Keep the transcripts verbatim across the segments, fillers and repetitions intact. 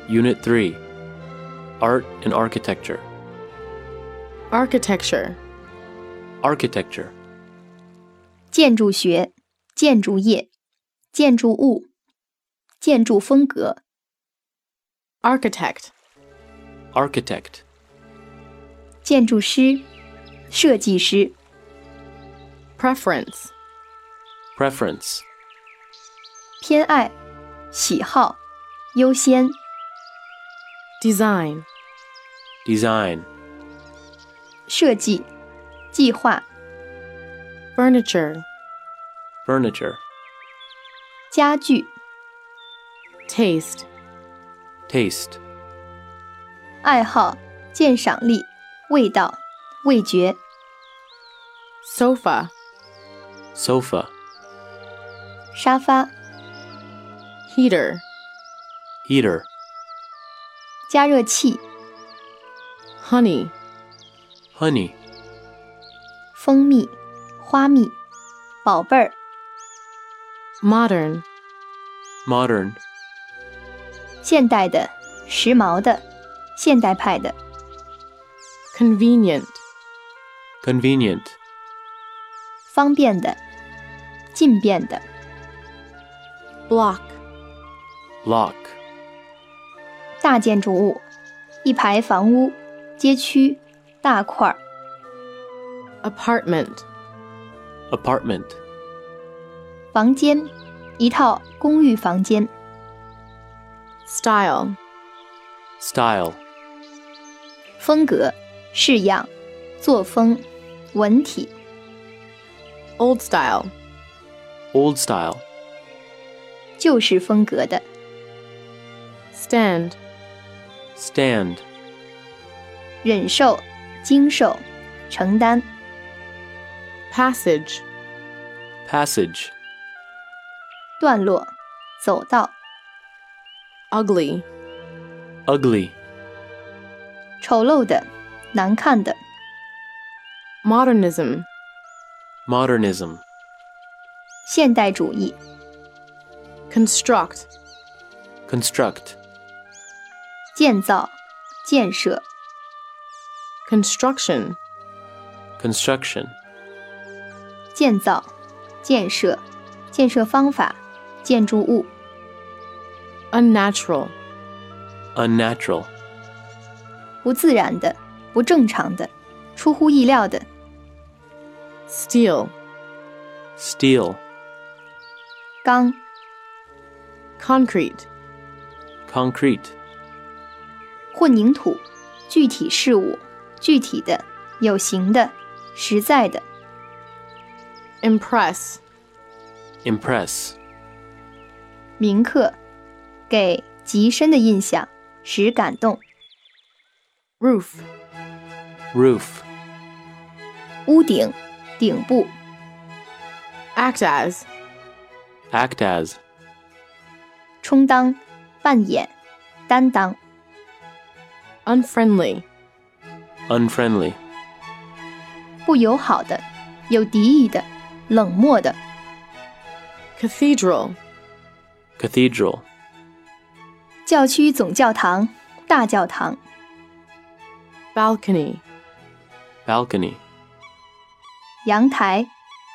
Unit three, Art and Architecture. Architecture. Architecture. 建筑学、建筑业、建筑物、建筑风格。 Architect. Architect. 建筑师、设计师。 Preference. Preference. 偏爱、喜好、优先。 Design. Design. 设计、计划。 Furniture. Furniture. 家具。 Taste. Taste. 爱好、鉴赏力、味道、味觉。 Sofa. Sofa. 沙发。 Heater. Heater. 加热器。 Honey. Honey. 蜂蜜、花蜜、宝贝儿。 Modern. Modern. 现代的、时髦的、现代派的。 Convenient. Convenient. 方便的、近便的。 Block. Block. 大建筑物，一排房屋、街区、大块儿。 Apartment. Apartment. 房间，一套公寓房间。 Style. Style. 风格、式样、作风、文体。 Old style. Old style. 旧式风格的。 Stand. Stand. 忍受、经受、承担。 Passage. Passage. 段落、走道。 Ugly. Ugly. 丑陋的、难看的。 Modernism. Modernism. 现代主义。 Construct. Construct. 建造、建设。 Construction. Construction. 建造、建设、建设方法、建筑物。 Unnatural. Unnatural. 不自然的、不正常的、出乎意料的。 Steel. Steel. 钢。 Concrete. Concrete. 混凝土，具体事物，具体的、有形的、实在的。 Impress. Impress. 铭刻，给极深的印象，使感动。 Roof. Roof. 屋顶、顶部。 Act as. Act as. 充当、扮演、担当。 Unfriendly. Unfriendly. 不友好的、有敌意的、冷漠的。 Cathedral. Cathedral. 教区总教堂、大教堂。 Balcony. Balcony. 阳台。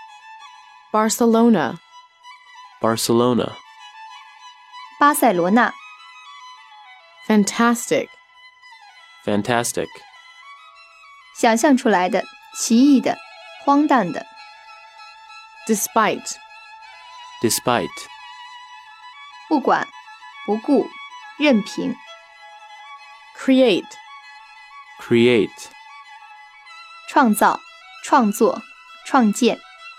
Barcelona. Barcelona. 巴塞罗那。 Fantastic. Fantastic. 想象出来的、奇异的、荒诞的。 Despite. Despite. 不管、不顾、任凭。 Create. Create. 创造、创作、创建。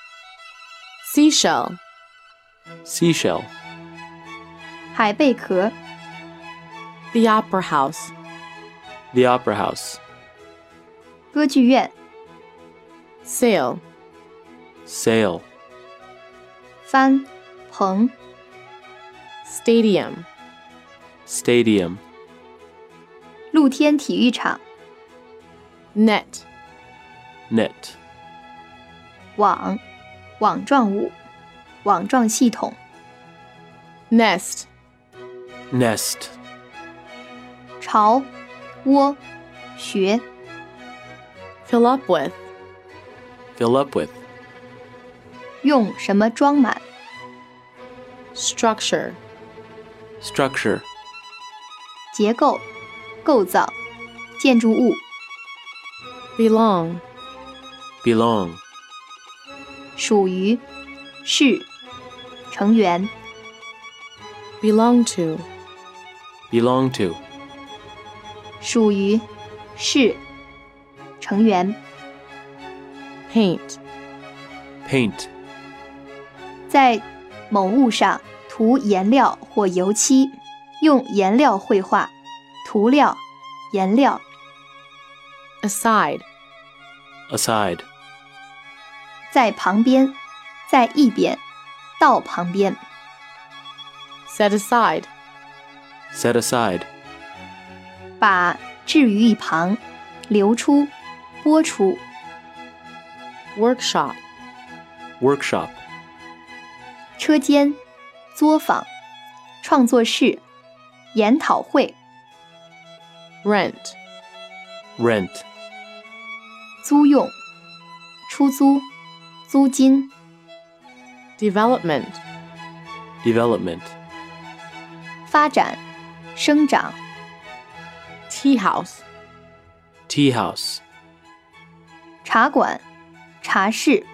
Seashell. Seashell. 海贝壳。 The Opera House. The Opera House. 歌剧院。 Sail. Sail. 帆、棚。 Stadium. Stadium. 露天体育场。 Net. Net. 网、网状物、网状系统。 Nest. Nest. 巢、窝、穴。 Fill up with. Fill up with. 用什么装满？ Structure. Structure. 结构、构造、建筑物。 Belong. Belong. 属于、是、成员。 Belong to. Belong to. 属于、是、成员。 Paint. Paint. 在某物上涂颜料或油漆，用颜料绘画，涂料、颜料。 Aside. Aside. 在旁边，在一边，到旁边。 Set aside. Set aside. 把置于一旁，留出，播出。 Workshop. Workshop. 车间、作坊、创作室、研讨会。 Rent. Rent. 租用、出租、租金。 Development. Development. 发展、生长。 Tea house. Tea house. 茶馆、茶室、